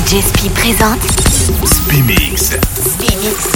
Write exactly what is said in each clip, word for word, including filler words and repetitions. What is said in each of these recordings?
D J Spi présente Spi Mix. Spi Mix.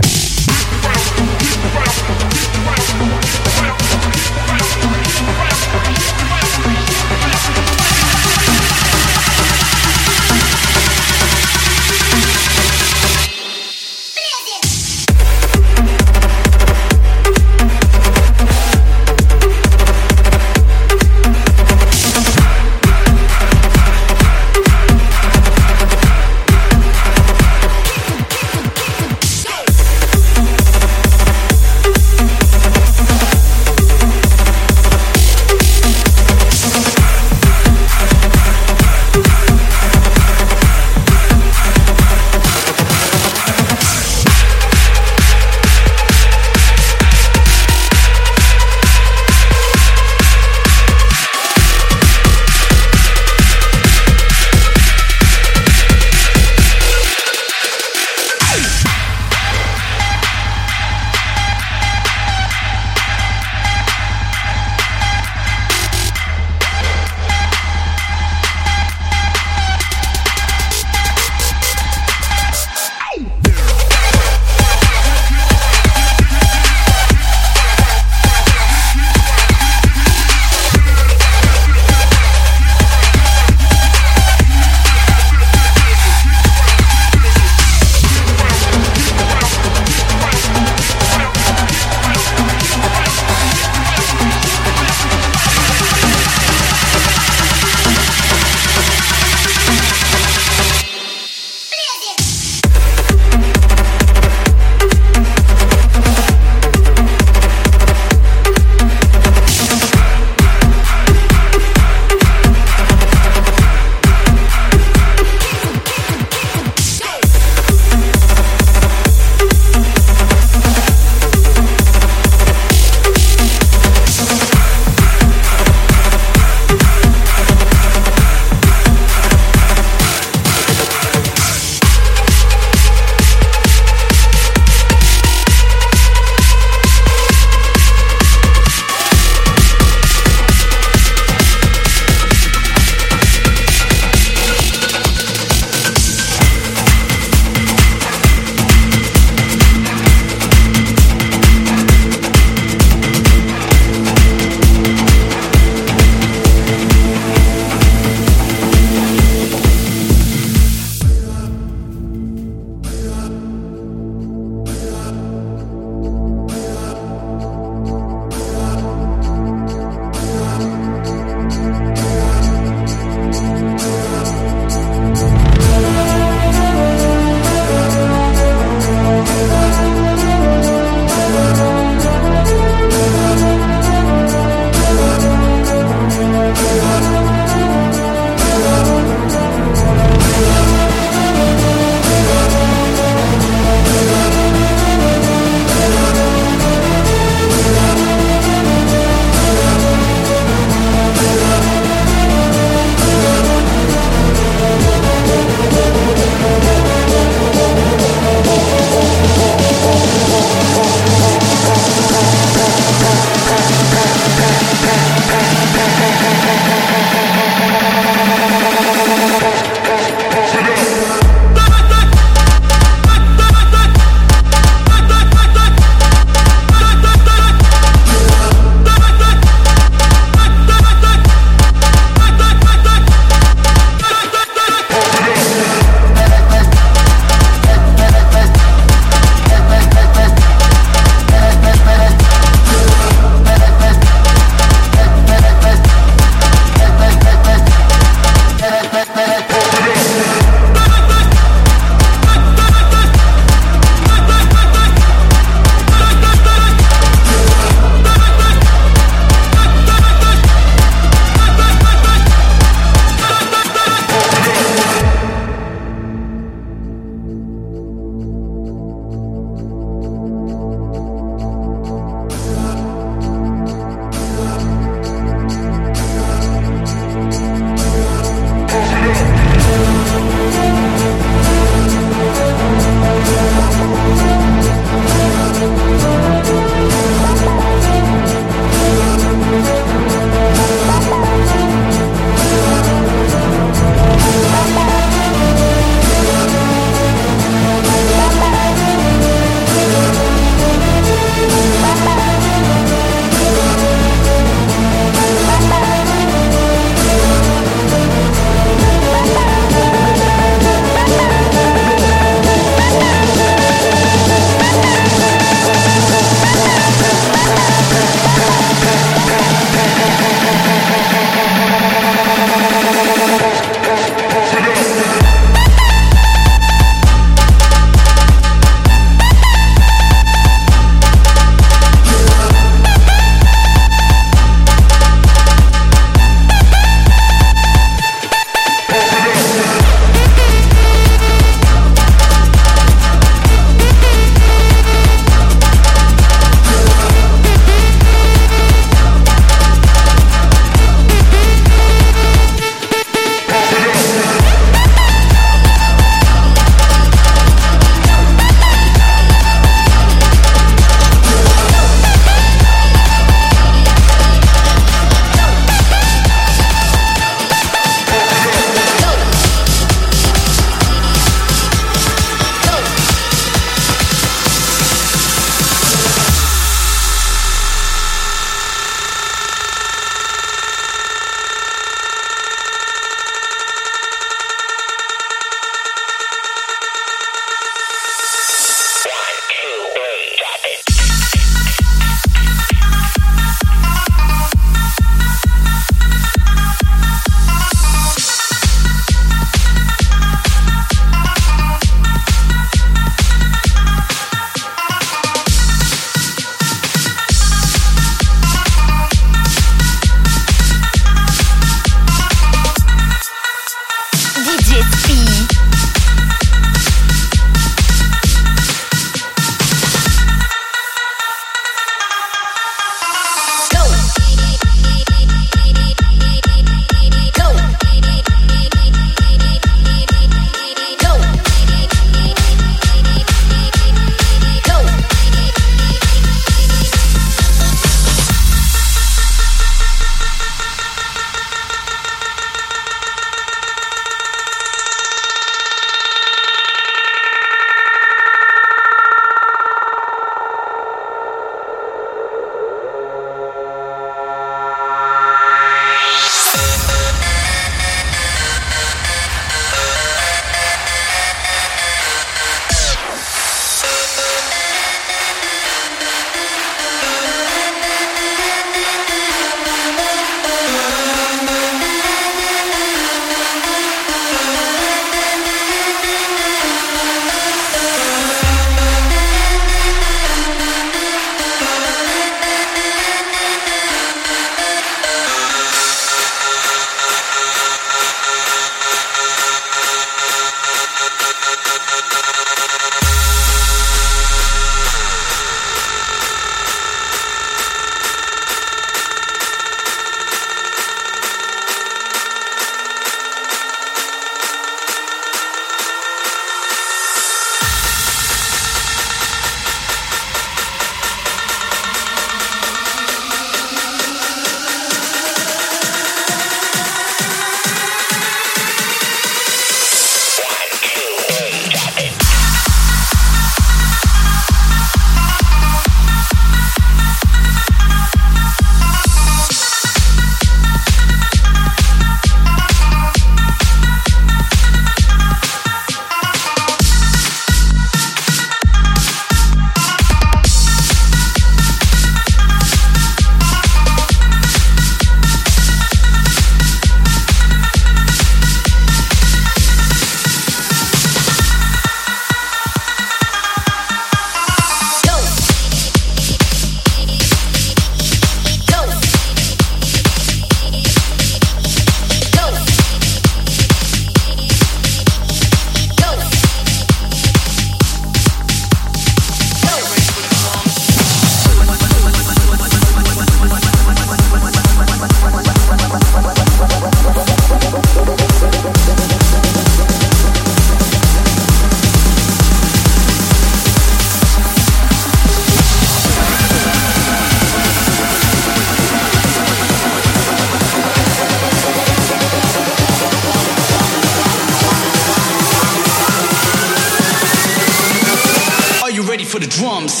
drums.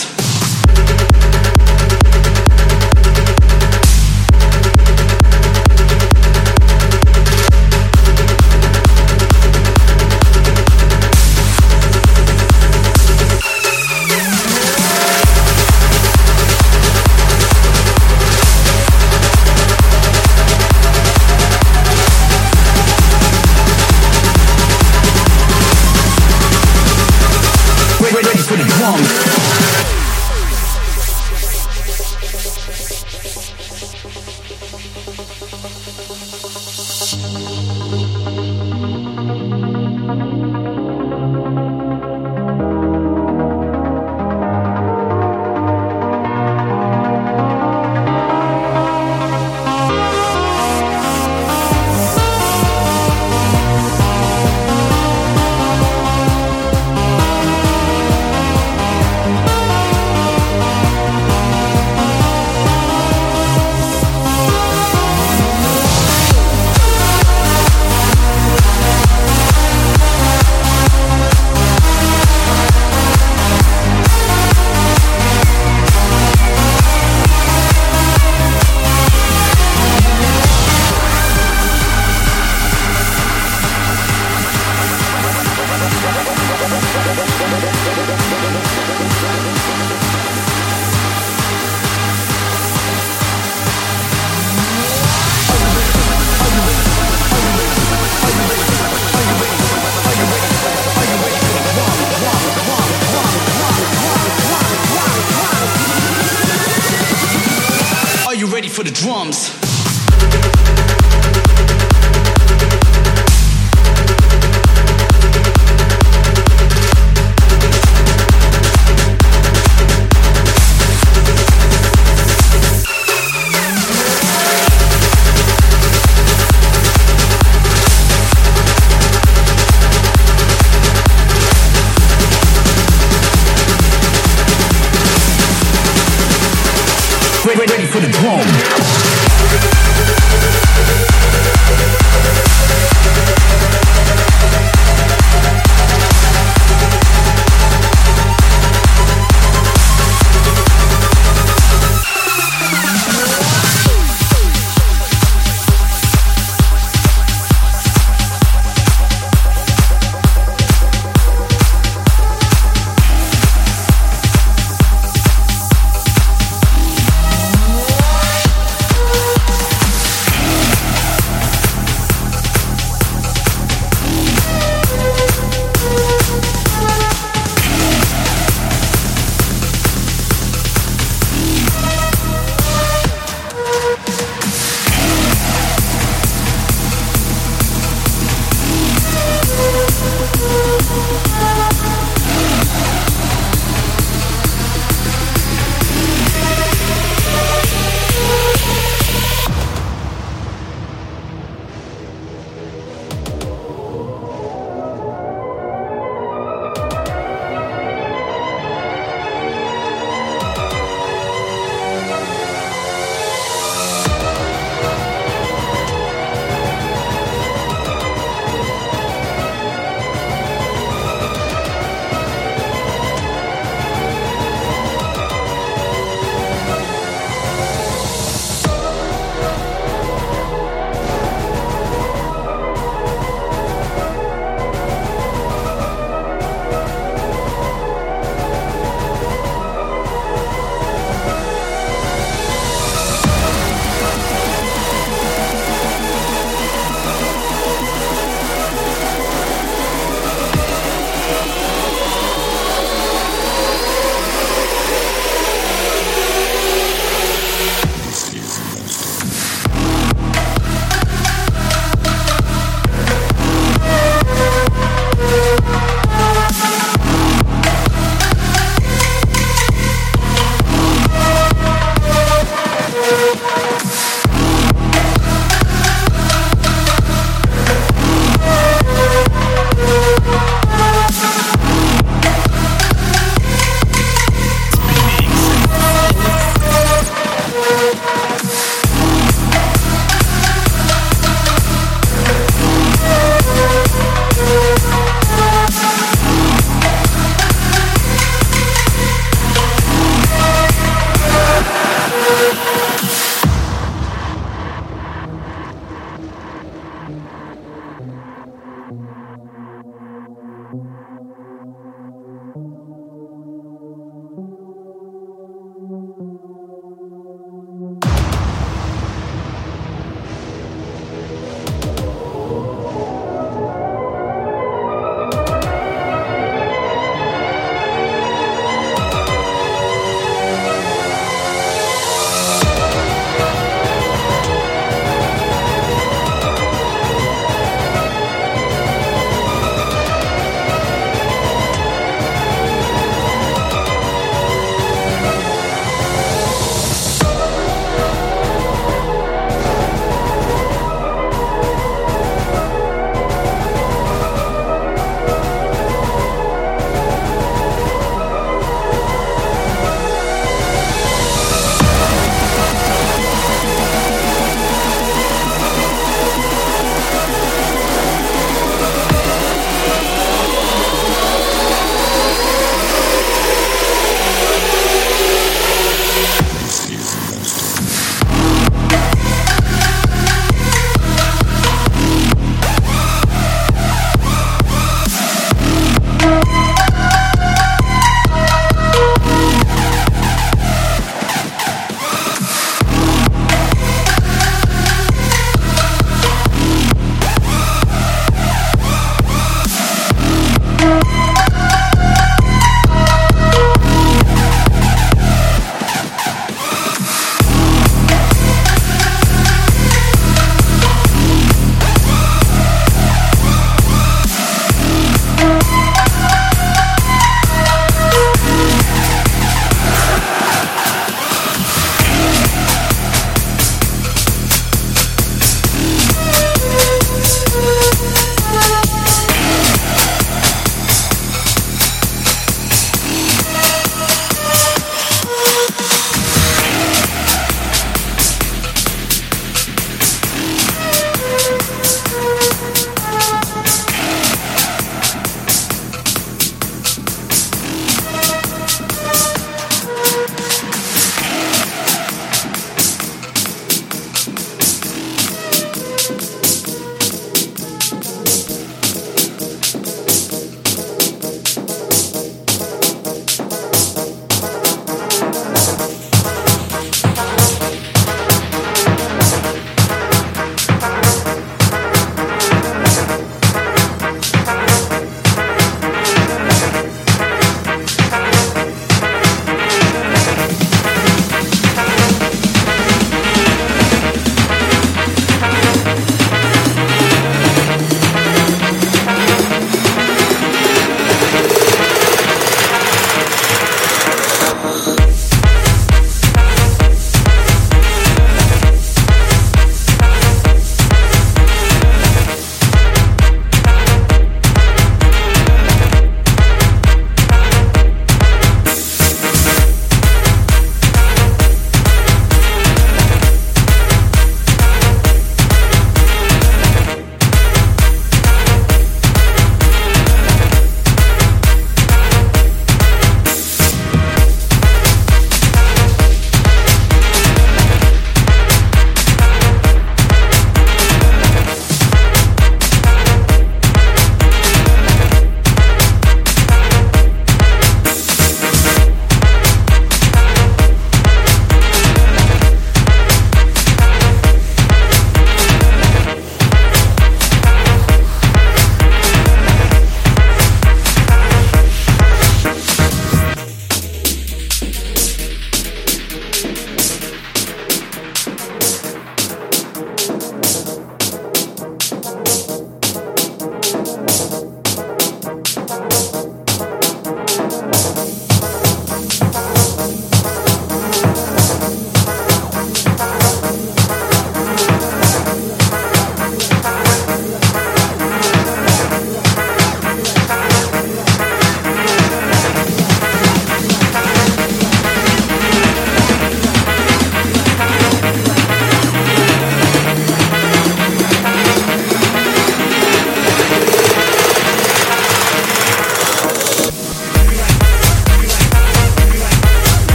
Ready for the drums. Ready for the drums. Ready for the drum.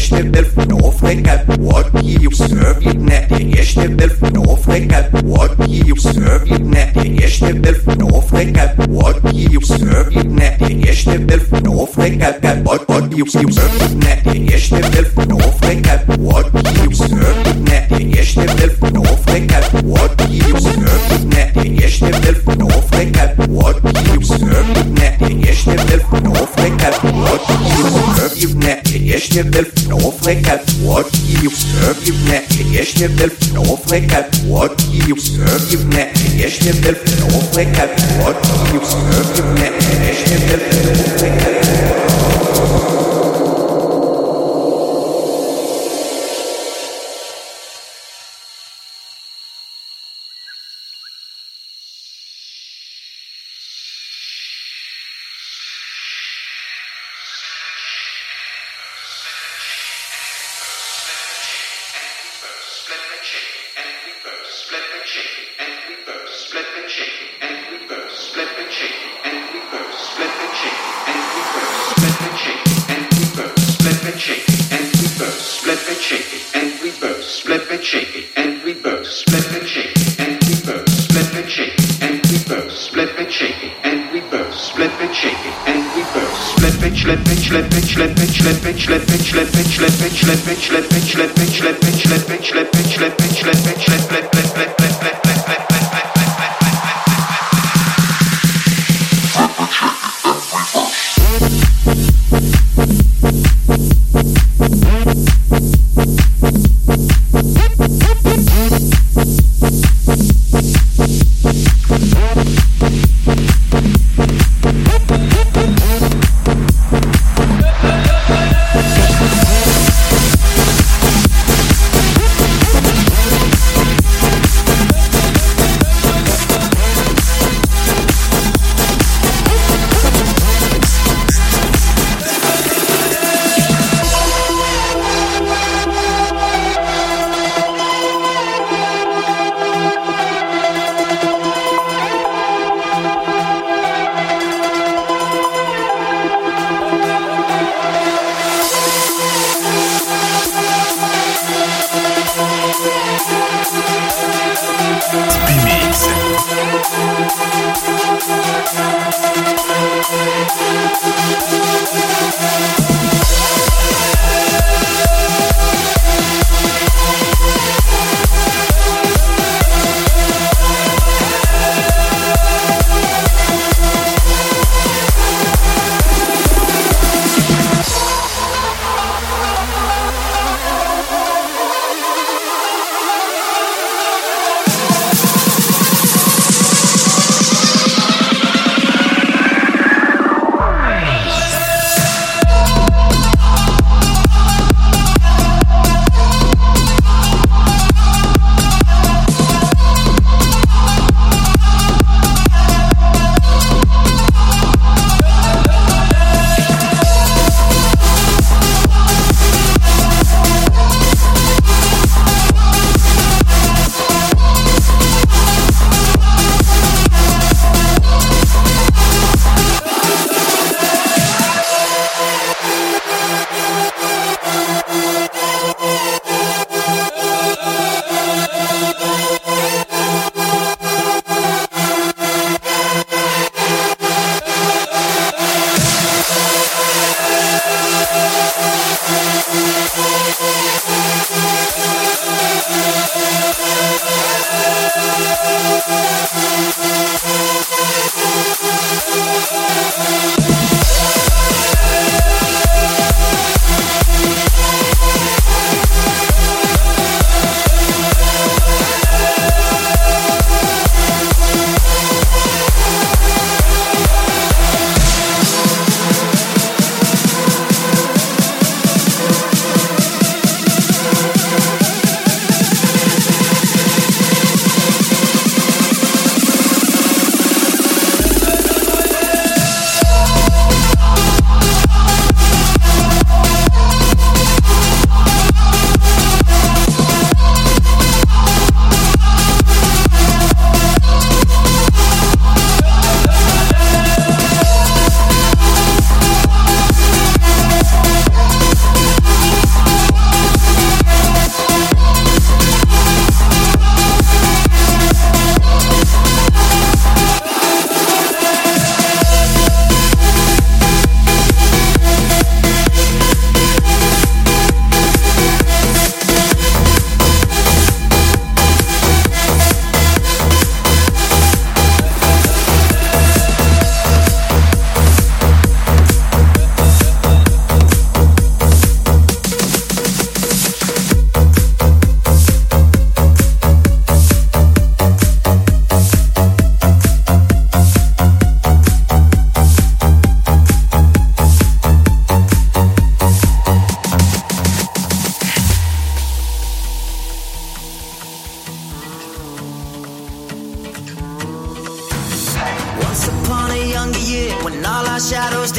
eerste wil van Afrika. What you serve je net. De eerste wil van Afrika. What you serve je net. De eerste wil van Afrika. What you serve je net. De eerste wil van Afrika. What what you serve je net. De eerste wil van Afrika. What you serve je net. De eerste wil van Afrika. What you serve je net. De eerste wil van Afrika. What you serve je net. De eerste wil van Afrika. What you serve je net. De eerste wil van Afrika. What you serve je net. De eerste wil van Afrika. What you serve je net. De eerste wil van Afrika. What you serve je net. De eerste wil van Afrika.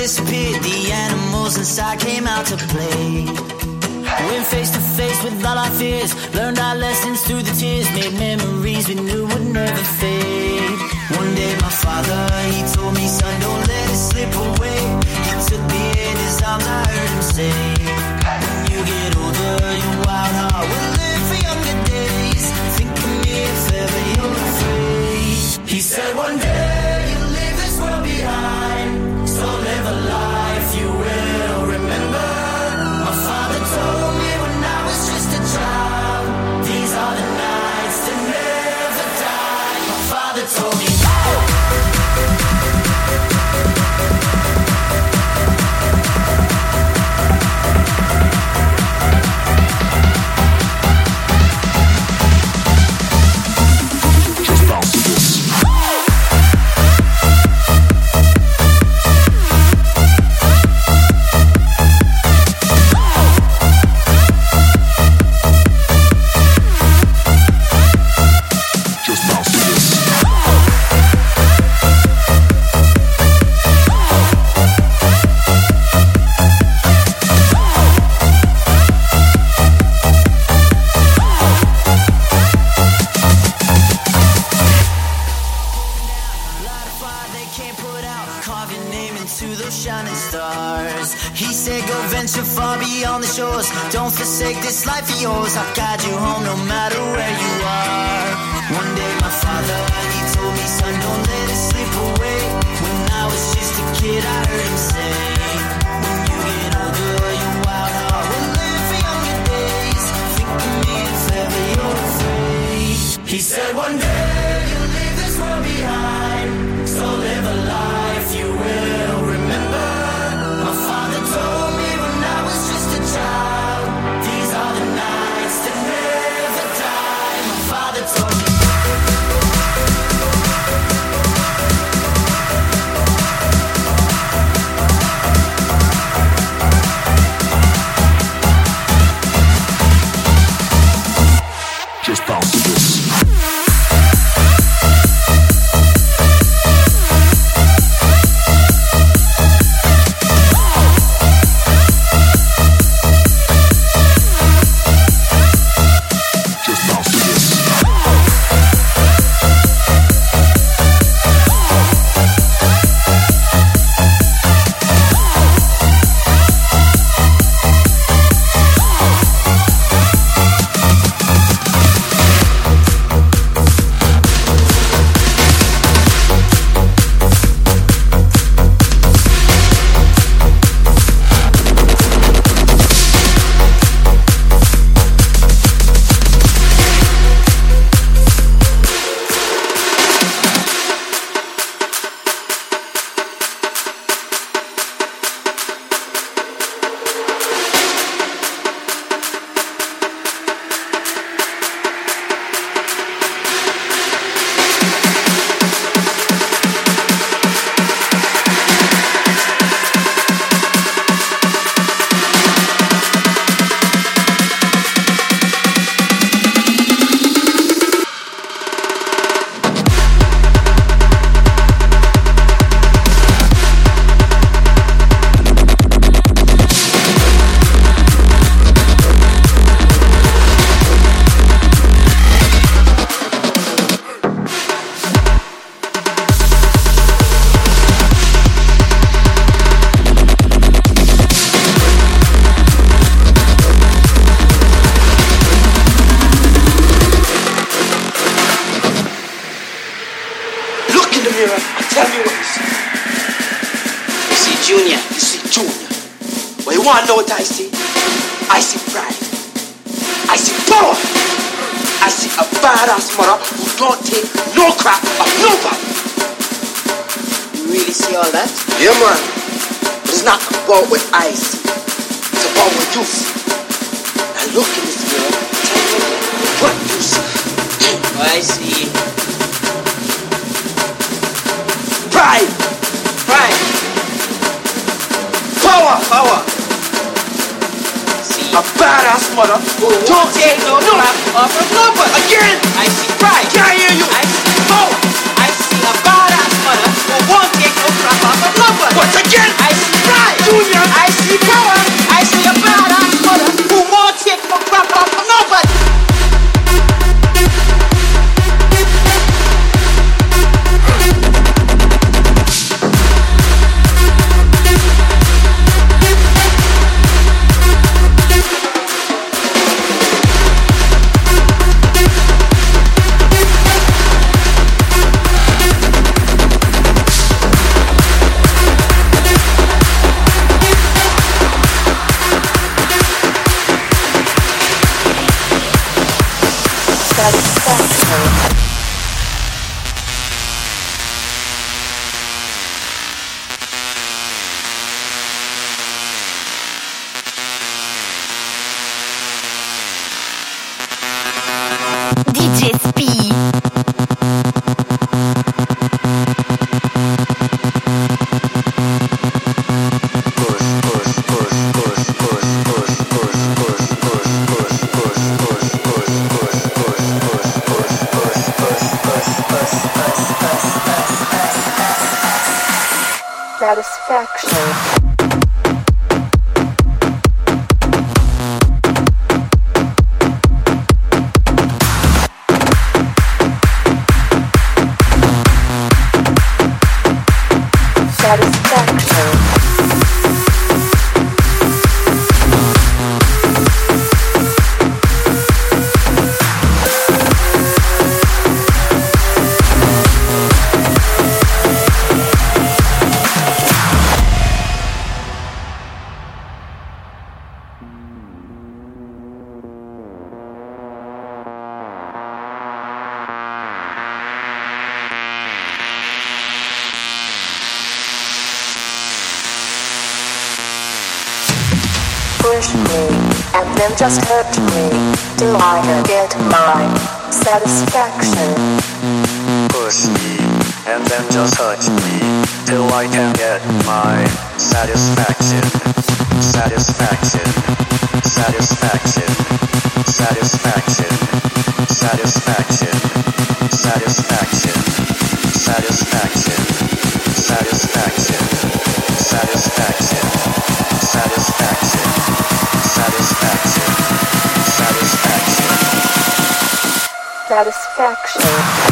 disappeared, the animals inside came out to play. Went face to face with all our fears, learned our lessons through the tears, made memories we knew would never fade. One day my father, he told me, son, don't let it slip away. He took me in his arms, I heard him say, when you get older, your wild heart will live for younger days. Think of me if ever you're afraid. He said one day you'll leave this world behind, so live a life you will remember. My father told me when I was just a child, these are the nights that never die. My father told me, don't forsake this life of yours. I'll guide you home no matter where you are. One day my father, he told me, son, don't let it slip away. When I was just a kid, I heard him say, when you get older, your wild heart will live for younger days. Think of me if ever you're afraid. He said one day you'll leave this world behind, so live a life you will remember. My father told me when I was just a child, these are the nights that never die. My father told me. Just bounce to this. I know what I see. I see pride. I see power. I see a badass mother who don't take no crap of nobody. You really see all that? Yeah, man. But it's not about what I see. It's about what you see. Now look in this mirror. Tell me what you see. I see pride. Pride. Power. Power. A badass mother who don't take no crap off of nobody. Again, I see pride. Can I hear you? I see power. I see a badass mother. mother who won't take no crap off of nobody. Once again, I see pride. Junior. I see power. I see a badass mother who won't take no crap off of nobody. D J Speed. Satisfaction. Push me, and then just hurt me, till I can get my satisfaction. Push me, and then just hurt me, till I can get my satisfaction. Satisfaction, satisfaction, satisfaction, satisfaction, satisfaction, satisfaction, satisfaction, satisfaction, satisfaction, satisfaction, satisfaction, Satisfaction.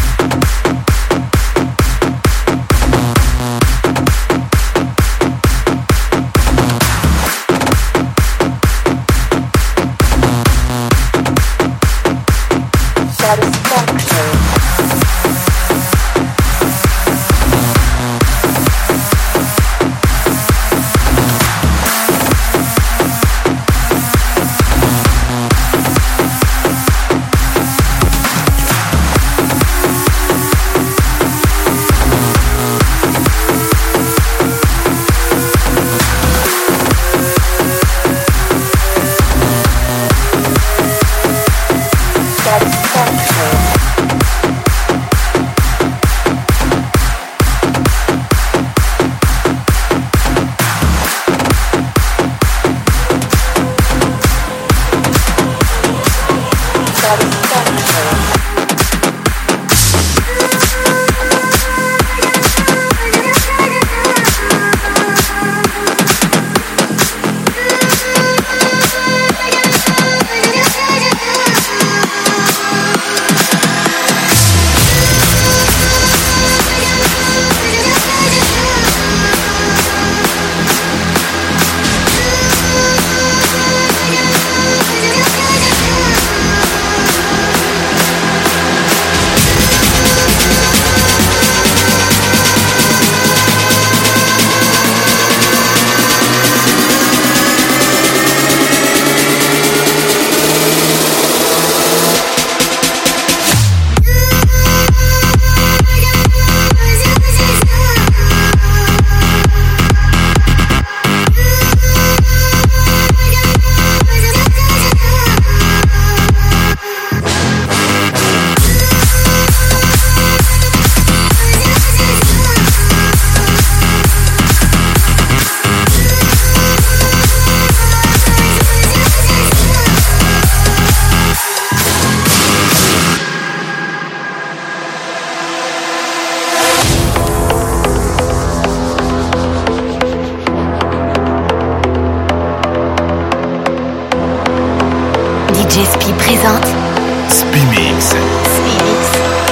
D J Spi présente Spi Mix. Spi Mix.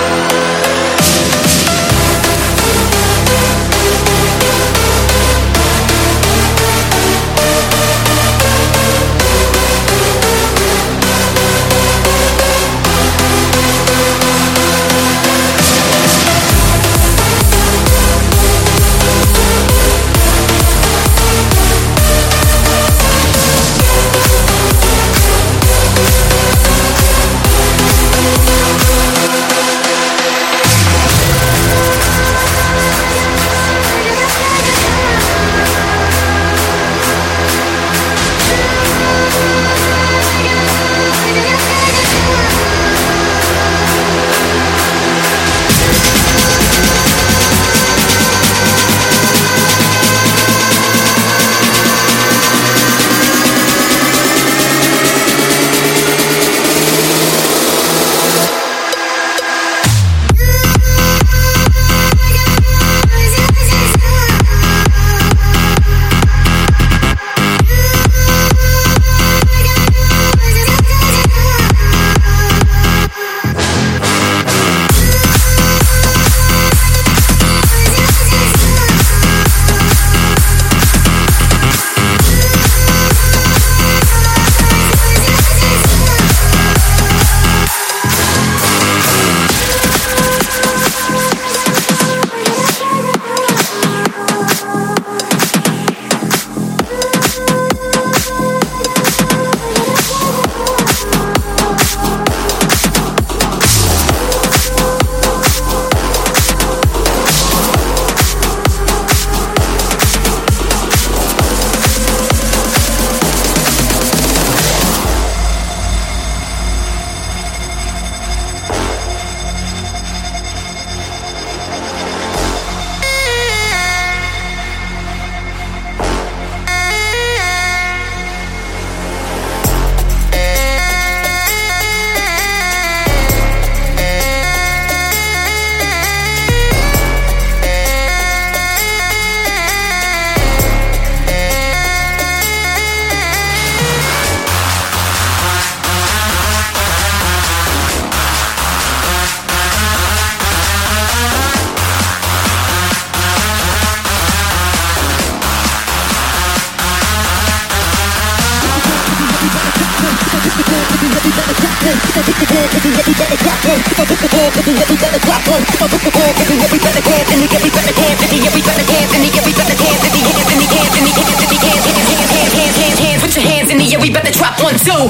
Put your hands in the air, we better drop one, two.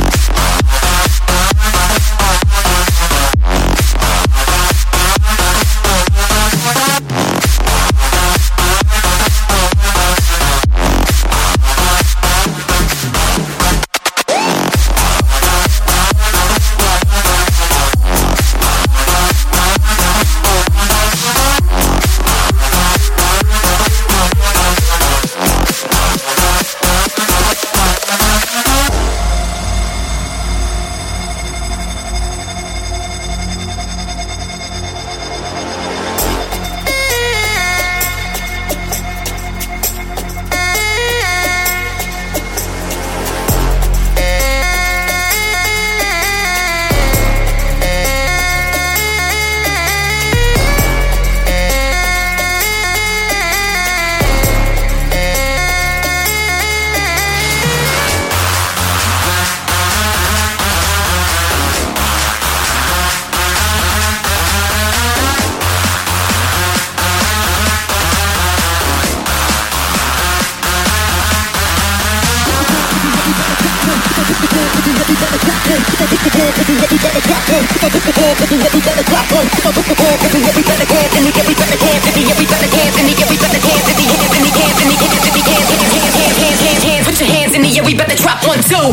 Put your hands in the air, we better drop one, two.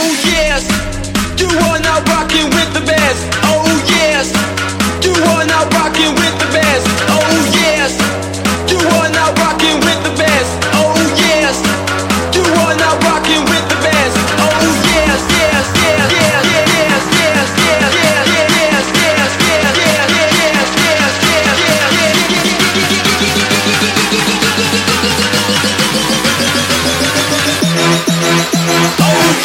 yes, you are now rocking with the best. Oh yes, you are now rocking with the best. Oh yes, you are now rocking with the best. Oh yes, you are now rocking with the best. Oh yes, yes, yes, yes, yes, yes, yes, yes, yes, yes, yes, yes, yes, yes, yes, oh.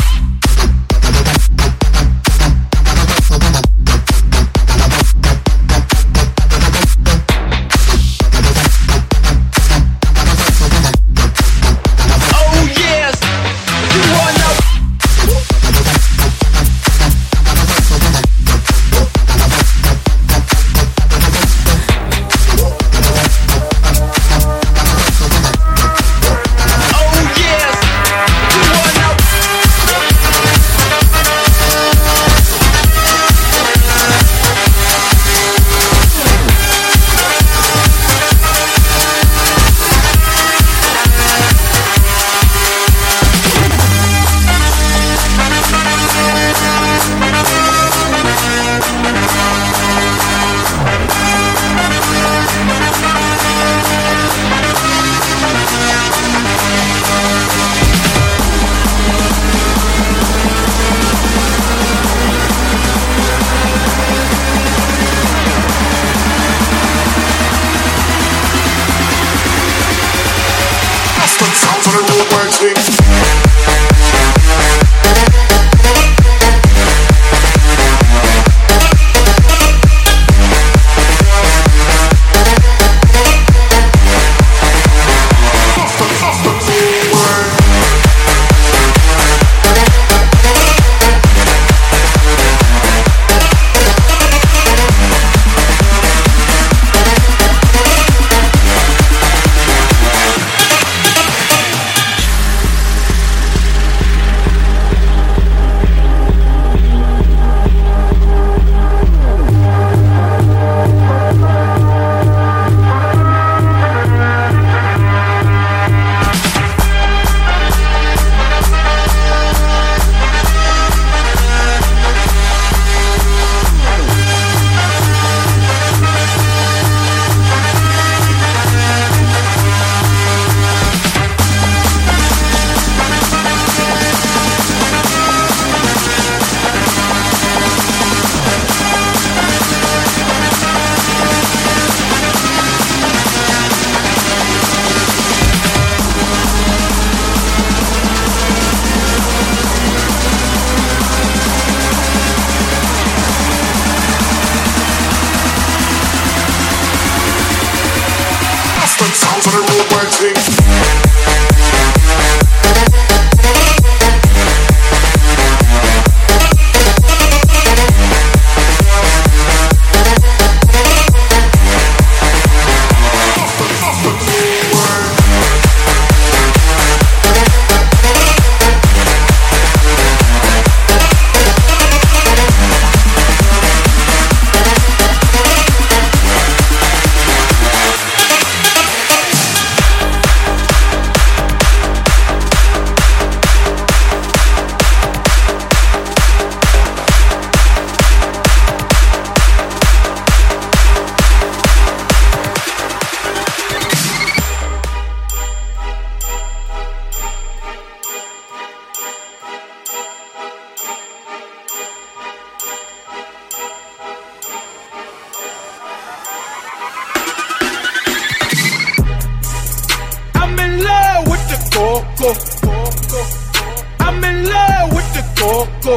I'm in love with the coco.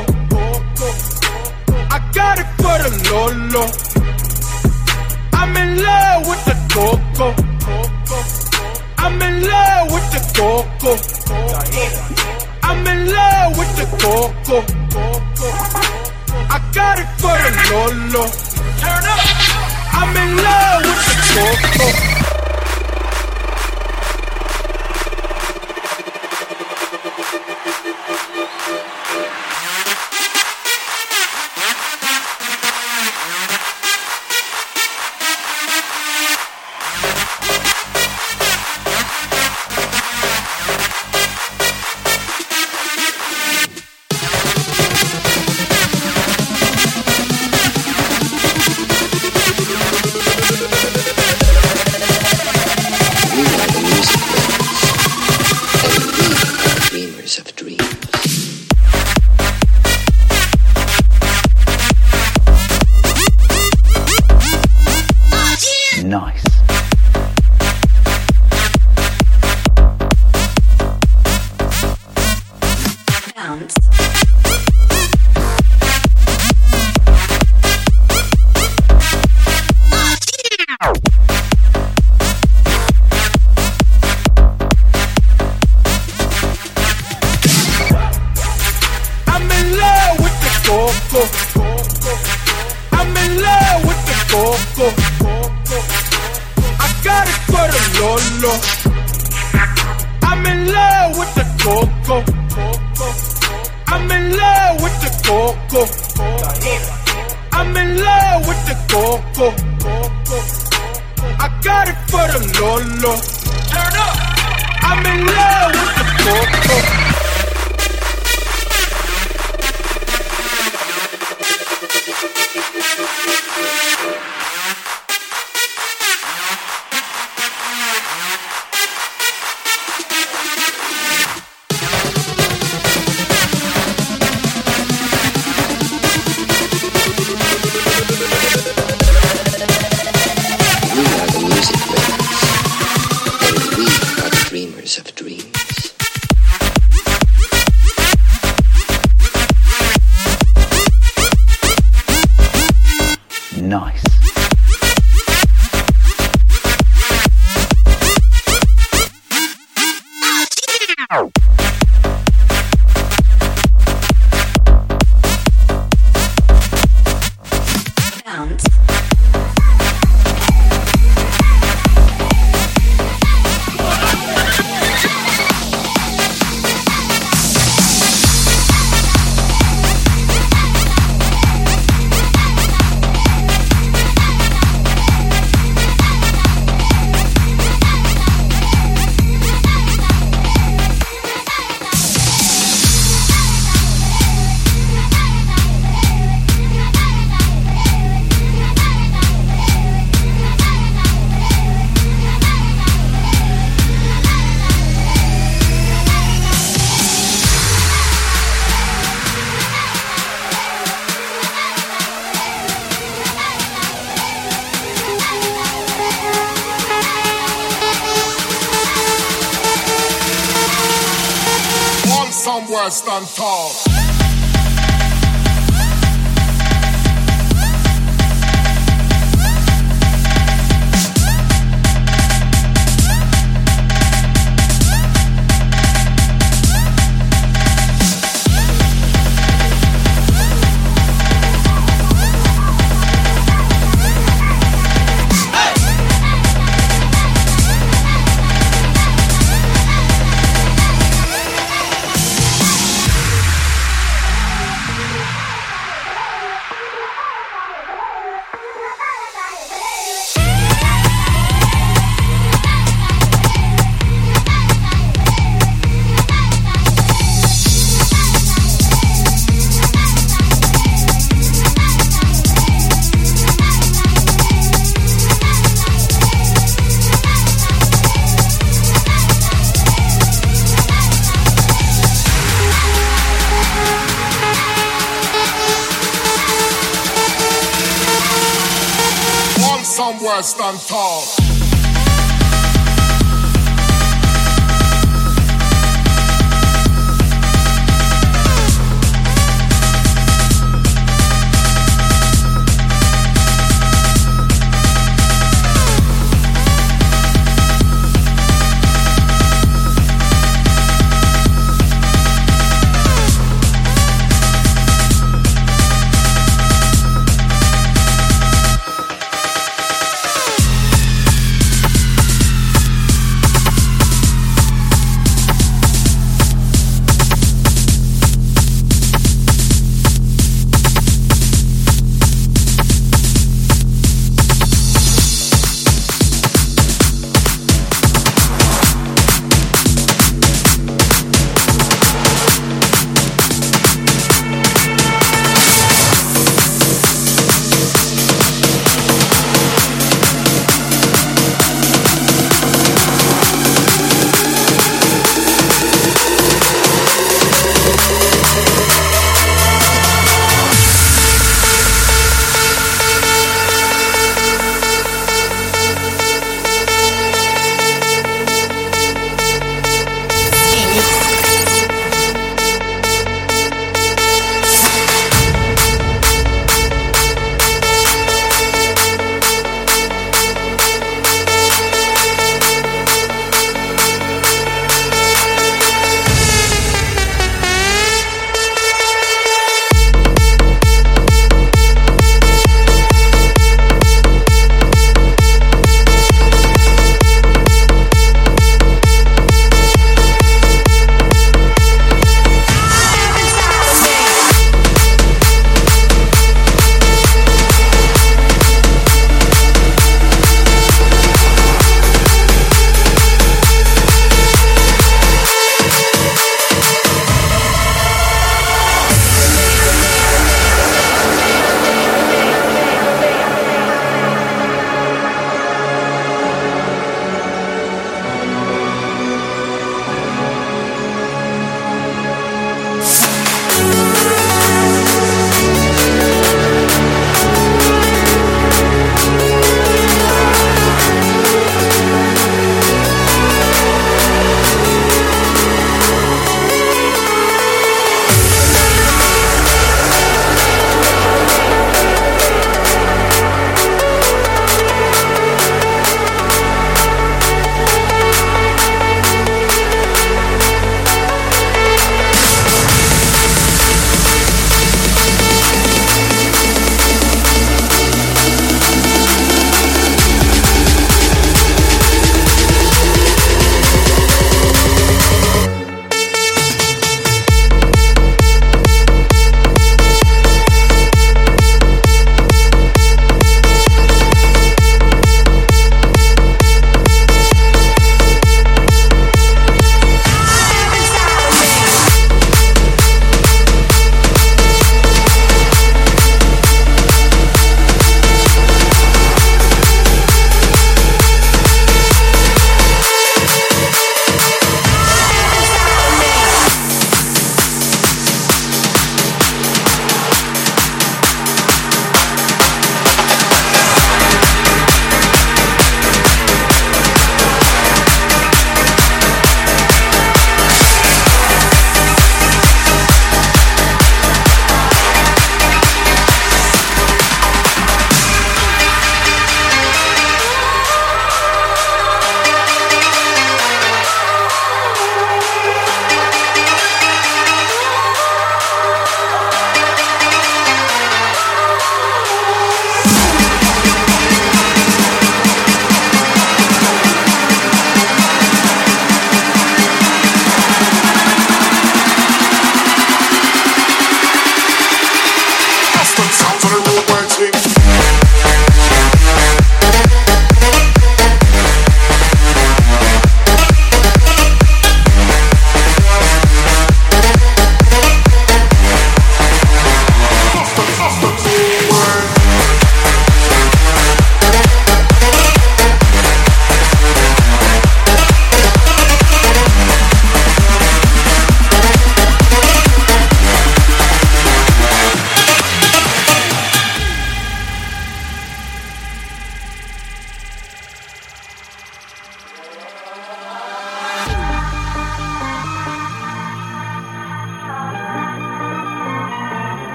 I got it for the Lolo. I'm in love with the coco. I'm in love with the coco. I'm in love with the coco. I got it for the Lolo. Turn up. I'm in love with the coco. Bounce. I'm in love with the coco. I'm in love with the coco. I got it for the Lolo. I'm in love with the coco. I'm in love with the coco. I'm in love with the coco. I got it for the Lolo. Turn up. I'm in love with the coco. Of dreams. Nice. Bounce. Somewhere stand tall. Somewhere stand tall.